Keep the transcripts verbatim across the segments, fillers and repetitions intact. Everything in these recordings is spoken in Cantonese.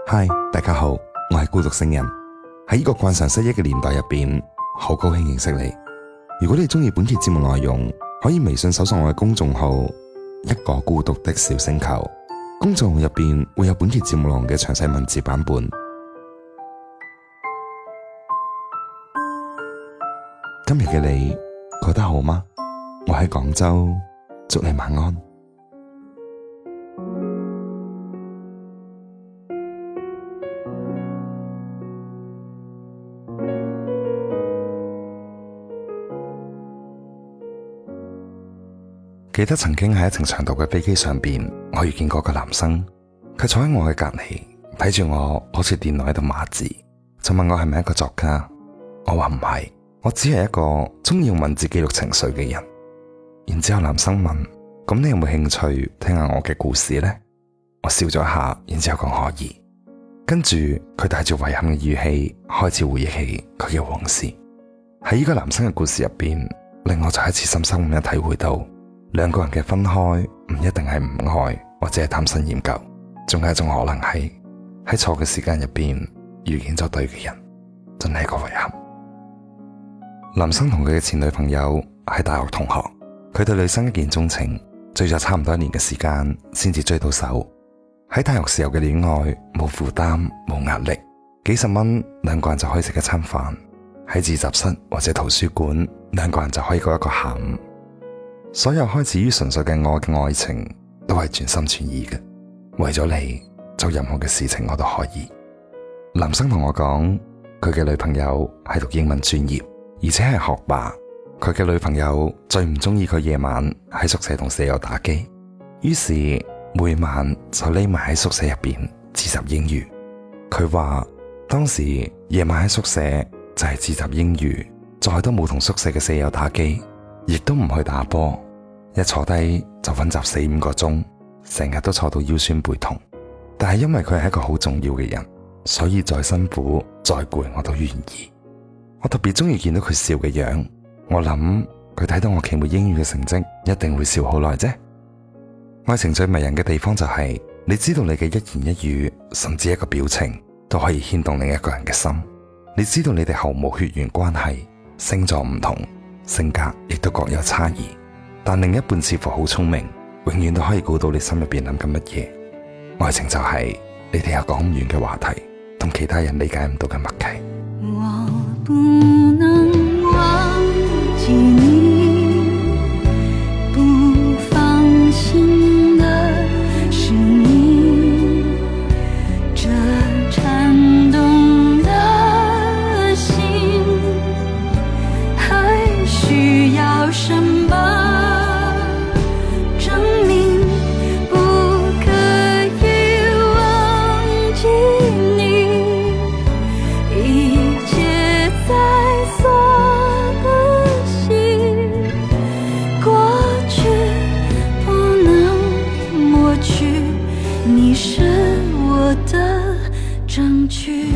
嗨，大家好，我係孤獨星人。喺呢個慣常失憶嘅年代入邊，好高興認識你。如果你中意本期節目內容，可以微信搜索我嘅公眾號一個孤獨的小星球，公眾號入邊會有本期節目內容嘅詳細文字版本。今日嘅你覺得好嗎？我喺廣州，祝你晚安。記得曾經喺一程長途嘅飛機上邊，我遇見過個男生，佢坐喺我嘅隔籬，睇住我好似電腦喺度碼字，就問我係咪一個作家。我話唔係，我只係一個中意用文字記錄情緒嘅人。然之後男生問：咁你有冇興趣聽下我嘅故事呢？我笑咗一下，然之後講可以。跟住佢帶住遺憾嘅語氣開始回憶起佢嘅往事。喺呢個男生嘅故事入邊，令我再一次深深咁樣體會到，兩個人嘅分開唔一定係唔愛或者係貪新厭舊，仲有一種可能係喺錯嘅時間入邊遇見咗對嘅人，真係一個遺憾。男生同佢嘅前女朋友係大學同學，佢對女生一見鍾情，追咗差唔多一年嘅時間先至追到手。喺大學時候嘅戀愛冇負擔冇壓力，幾十蚊兩個人就可以食一餐飯，喺自習室或者圖書館兩個人就可以過一個下午。所有開始於純粹嘅愛嘅愛情都係全心全意嘅，為咗你做任何嘅事情我都可以。男生同我講，佢嘅女朋友係讀英文專業，而且係學霸。佢嘅女朋友最唔中意佢夜晚喺宿舍同舍友打機，於是每晚就匿埋喺宿舍入邊自習英語。佢話當時夜晚喺宿舍就係自習英語，再都冇同宿舍嘅舍友打機，亦都唔去打波，一坐低就溫習四五個鐘，成日都坐到腰酸背痛。但係因為佢係一個好重要嘅人，所以再辛苦再攰我都願意。我特別中意見到佢笑嘅樣，我諗佢睇到我期末英語嘅成績一定會笑好耐啫。愛情最迷人嘅地方就係，你知道你嘅一言一語，甚至一個表情都可以牽動另一個人嘅心。你知道你哋毫無血緣關係，星座唔同，性格亦都各有差異，但另一半似乎好聰明，永遠都可以估到你心入邊諗緊乜嘢。愛情就係你哋有講唔完嘅話題，同其他人理解唔到嘅默契。 我不能忘記你，不放心的是你，這顫動的心還需要什麼證明不可以忘記你，一切在所不惜，過去不能抹去，你是我的證據。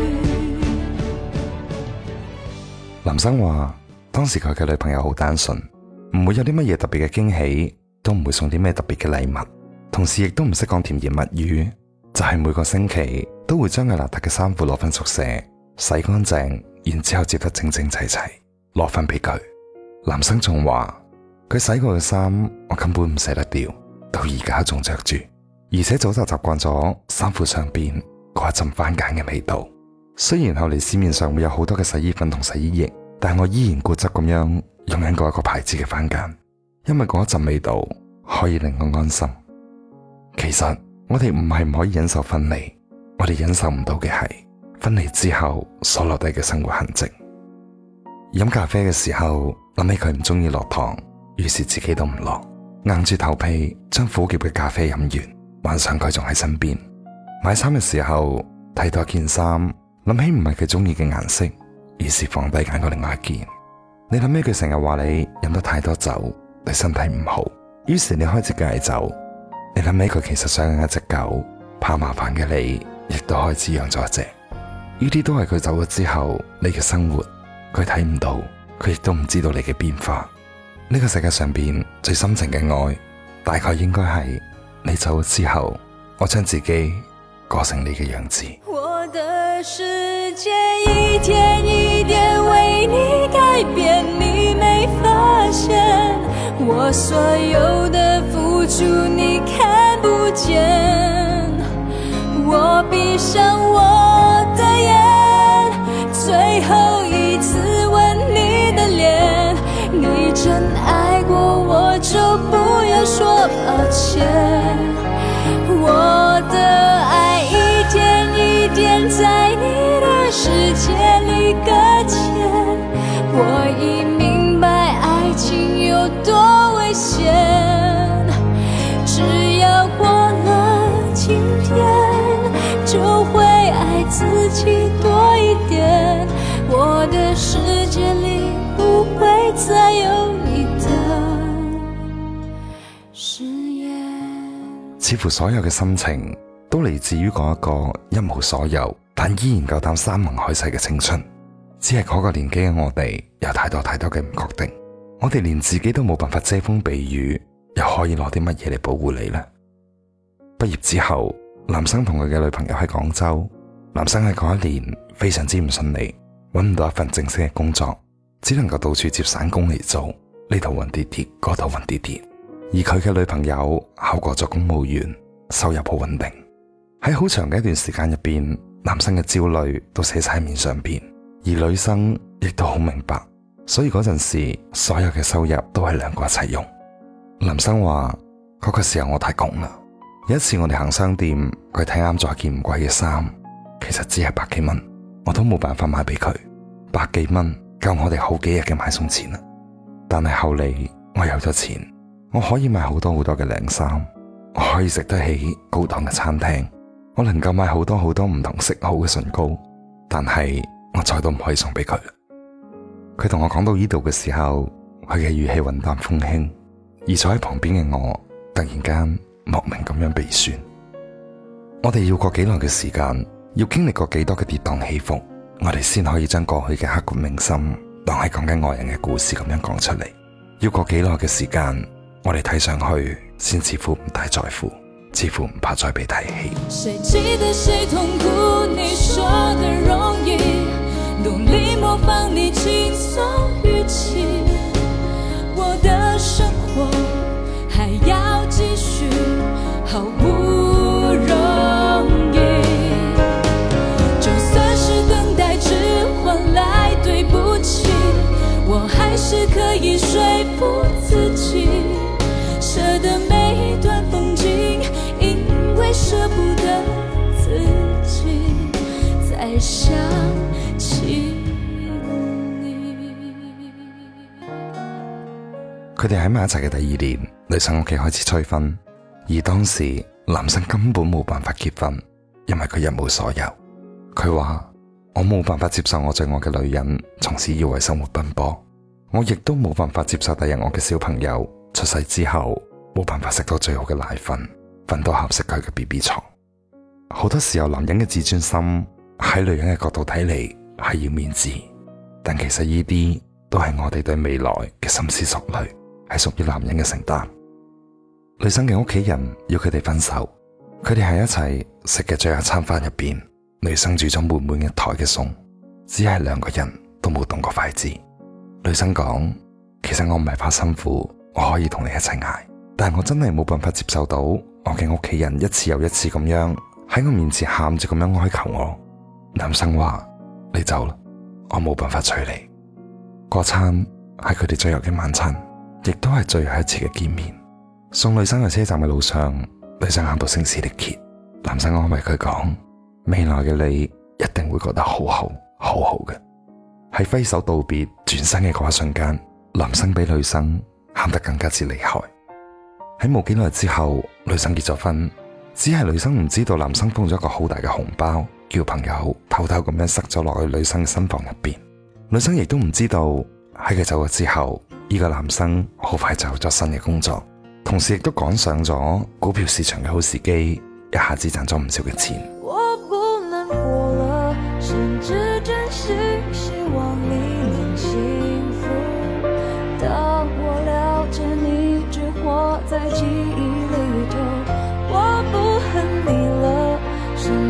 男生話當時佢嘅女朋友好單純，唔會有啲乜嘢特別嘅驚喜，都唔會送啲咩特別嘅禮物，同時亦都唔識講甜言蜜語，就係每個星期都會將佢邋遢嘅衫褲攞返宿舍洗乾淨，然之後摺得整整齊齊攞返俾佢。男生仲話佢洗過嘅衫我根本唔捨得掉，到而家仲着住，而且早就習慣咗衫褲上邊嗰一陣番梘嘅味道。雖然後嚟市面上會有好多嘅洗衣粉同洗衣液，但我依然固執咁樣用緊嗰一個牌子嘅番梘，因為嗰一陣味道可以令我安心。其實我哋唔係唔可以忍受分離，我哋忍受唔到嘅係分離之後所留低嘅生活痕跡。飲咖啡嘅時候諗起佢唔中意落糖，於是自己都唔落，硬住頭皮將苦澀嘅咖啡飲完，晚上佢仲喺身邊。買衫嘅時候睇到一件衫，諗起唔係佢中意嘅顏色，於是放低揀過另外一件。你諗起佢成日話你飲得太多酒對身體唔好，於是你開始戒酒。你諗起佢其實想養一隻狗，怕麻煩嘅你亦都開始養咗一隻。呢啲都係佢走咗之後你嘅生活，佢睇唔到，佢亦都唔知道你嘅變化。呢個世界上邊最深情嘅愛，大概應該係你走咗之後，我將自己過成你嘅樣子。 我的世界一天一點為你改變，你沒發現我所有的付出你看不見，我閉上我的眼，最後一次吻你的臉，你真愛過我就不要說抱歉，我的愛一點一點在你的世界裡擱淺，我已明白愛情有多危險，只要過了今天就會愛自己多一點，我的世界裡不會再有你的誓言。 似乎所有嘅心情都嚟自於嗰一個一無所有但依然夠膽山盟海誓嘅青春，只係嗰個年紀嘅我哋有太多太多嘅唔確定，我哋連自己都冇辦法遮風避雨，又可以攞啲乜嘢嚟保護你呢？畢業之後，男生同佢嘅女朋友喺廣州，男生喺嗰一年非常之唔順利，揾唔到一份正式嘅工作，只能夠到處接散工嚟做，呢度揾啲啲，嗰度揾啲啲。而佢嘅女朋友考過咗公務員，收入好穩定。喺好長嘅一段時間入邊，男生嘅焦慮都寫晒喺面上邊，而女生亦都好明白，所以嗰陣時所有嘅收入都係兩個一齊用。男生話嗰個時候我太窮啦，有一次我哋行商店，佢睇啱咗一件唔貴嘅衫，其實只係百幾蚊，我都冇辦法買俾佢，百幾蚊夠我哋好幾日嘅買餸錢啦。但係後嚟我有咗錢，我可以買好多好多嘅靚衫，我可以食得起高檔嘅餐廳，我能夠買好多好多唔同色號嘅唇膏，但係我再都唔可以送俾佢。佢同我講到呢度嘅時候，佢嘅語氣雲淡風輕，而坐喺旁邊嘅我突然間莫名咁樣鼻酸。我哋要過幾耐嘅時間，要經歷過幾多嘅跌宕起伏，我哋先可以將過去嘅刻骨銘心當係講緊愛人嘅故事咁樣講出嚟。要過幾耐嘅時間，我哋睇上去先似乎唔太在乎，似乎唔怕再被提起。 誰記得誰痛苦，你說的容易，努力模仿你輕鬆語氣，我的生活還要繼續，好不容易，就算是等待只換來對不起，我還是可以說服自己，捨得每一段風景，因為捨不得自己再想起你。 佢哋喺埋一齊嘅第二年，女生屋企開始催婚，而當時男生根本冇辦法結婚，因為佢一無所有。佢話：我冇辦法接受我最愛嘅女人從此要為生活奔波，我亦都冇辦法接受第日我嘅小朋友出世之後冇辦法食到最好嘅奶粉，瞓到合適佢嘅 B B 床。好多時候男人嘅自尊心喺女人嘅角度睇嚟係要面子，但其實呢啲都係我哋對未來嘅深思熟慮，係屬於男人嘅承擔。女生嘅屋企人要佢哋分手，佢哋喺一齊食嘅最後一餐飯入邊，女生煮咗滿滿一台嘅餸，只係兩個人都冇動過筷子。女生講：其實我唔係怕辛苦，我可以同你一齊捱，但係我真係冇辦法接受到我嘅屋企人一次又一次咁樣喺我面前喊住咁樣哀求我。男生話：你走啦，我冇辦法娶你。嗰餐係佢哋最後嘅晚餐，亦都係最後一次嘅見面。送女生去車站嘅路上，女生喊到聲嘶力竭，男生安慰佢講：未來嘅你一定會覺得好好好好嘅。喺揮手道別轉身嘅嗰一瞬間，男生比女生喊得更加之厲害。喺冇幾耐之後，女生結咗婚，只係女生唔知道男生封咗個好大嘅紅包，叫朋友偷偷咁樣塞咗落去女生嘅新房入邊。女生亦都唔知道喺佢走咗之後，呢個男生好快就有咗新嘅工作，同時亦都趕上咗股票市場嘅好時機，一下子賺咗唔少嘅錢。 我不難過了，甚至真心希望你能幸福，當我了解你只活在記憶裏頭，我不恨你了，甚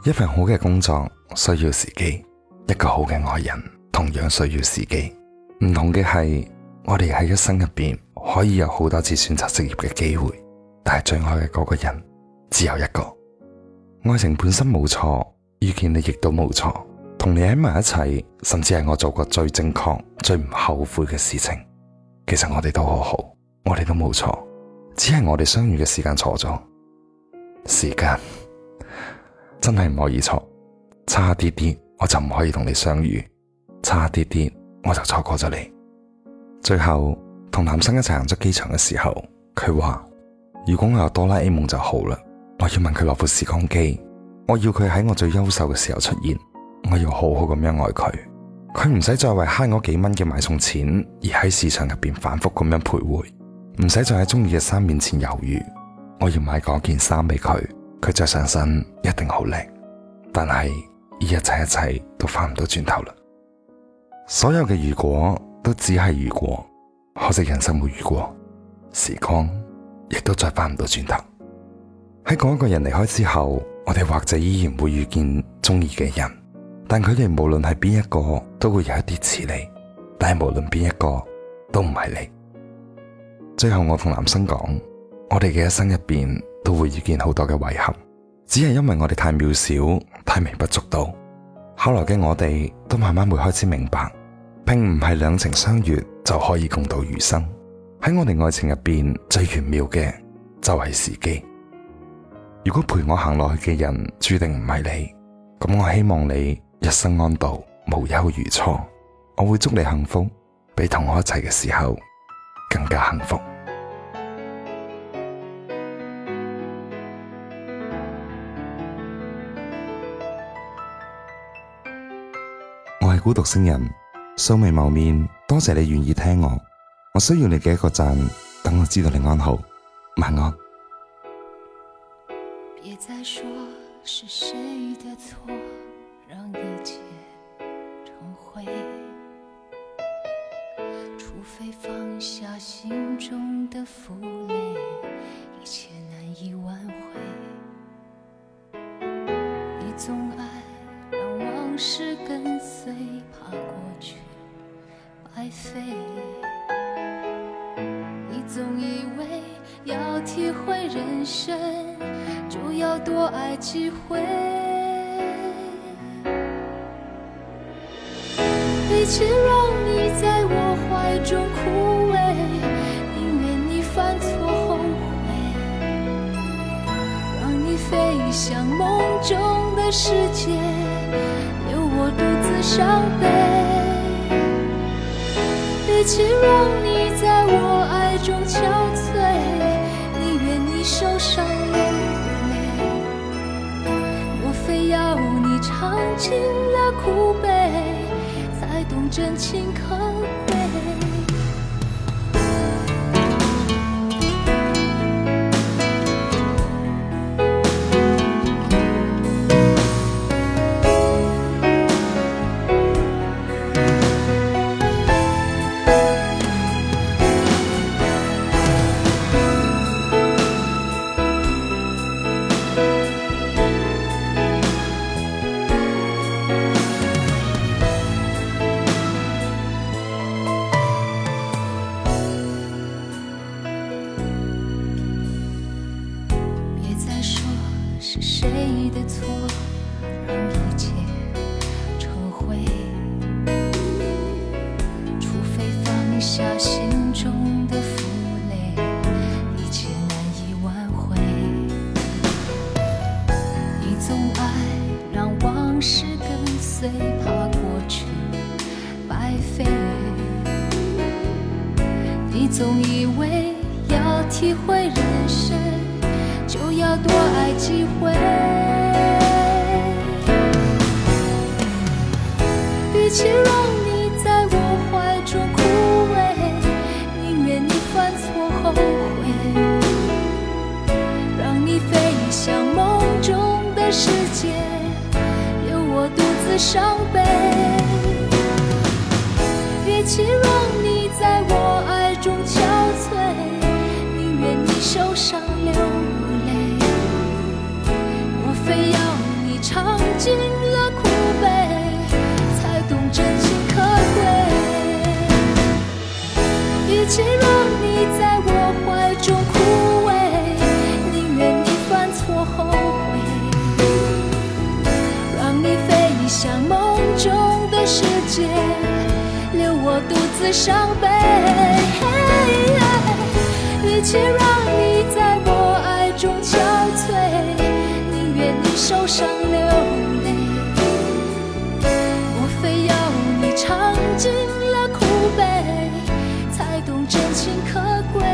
一份好嘅工作需要時機，一個好嘅愛人同樣需要時機。唔同嘅係，我哋喺一生入邊可以有好多次選擇職業嘅機會，但係最愛嘅嗰個人只有一個。愛情本身冇錯，遇見你亦都冇錯，同你喺埋一齊，甚至係我做過最正確、最唔後悔嘅事情。其實我哋都好好，我哋都冇錯，只係我哋相遇嘅時間錯咗。時間真係唔可以錯，差啲啲我就唔可以同你相遇，差啲啲我就錯過咗你。最後同男生一齊行出機場嘅時候，佢話如果我有哆啦 A 夢就好啦，我要問佢攞部時光機，我要佢喺我最優秀嘅時候出現，我要好好咁樣愛佢，佢唔使再為慳嗰幾蚊嘅買餸錢而喺市場入邊反覆咁樣徘徊，唔使再喺中意嘅衫面前猶豫。我要買嗰件衫俾佢，佢着上身一定好靚。但係呢一切一切都翻唔到轉頭啦，所有嘅如果都只係如果，可惜人生冇如果，時光亦都再翻唔到轉頭。喺嗰一個人離開之後，我哋或者依然會遇見中意嘅人，但佢哋無論係邊一個都會有一啲似你，但係無論邊一個都唔係你。最後我同男生講，我哋嘅一生入邊都會遇見好多嘅遺憾，只係因為我哋太渺小，太微不足道。後來嘅我哋都慢慢會開始明白，並唔係兩情相悅就可以共度餘生。喺我哋愛情入邊最玄妙嘅就係時機。如果陪我行落去嘅人注定唔係你，咁我希望你一生安度，無憂如初。我會祝你幸福，比同我一齊嘅時候更加幸福。我係孤獨星人，素未謀面，多謝你願意聽我。我需要你嘅一個讚，等我知道你安好。晚安。 別再說是誰的錯，讓一切成灰，除非放下心中的負累，一切難以挽回。你總愛讓往事跟隨，怕過去白費。你總以為要體會人生，就要多愛幾回。與其讓你在我懷中枯萎，寧願你犯錯後悔，讓你飛向夢中的世界，留我獨自傷悲。與其讓你在我愛中憔悴，寧願你受傷流淚。莫非要你嘗盡了苦悲，才懂真情可貴。是誰的錯，讓一切成灰？除非放下心中的負累，一切難以挽回。你總愛讓往事跟隨，怕過去白費。你總以為要體會人生，就要多愛幾回。與其讓你在我懷中枯萎，寧願你犯錯後悔，讓你飛向夢中的世界，留我獨自傷悲。與其讓你在我愛中憔悴，寧願你受傷流淚。非要你嘗丝伤悲，与其让你在我爱中憔悴，宁愿你受伤流泪。我非要你尝尽了苦悲，才懂真情可贵。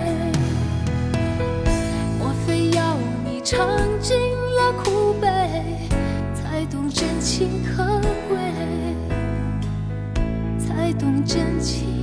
我非要你尝尽了苦悲，才懂真情可贵，才懂真情。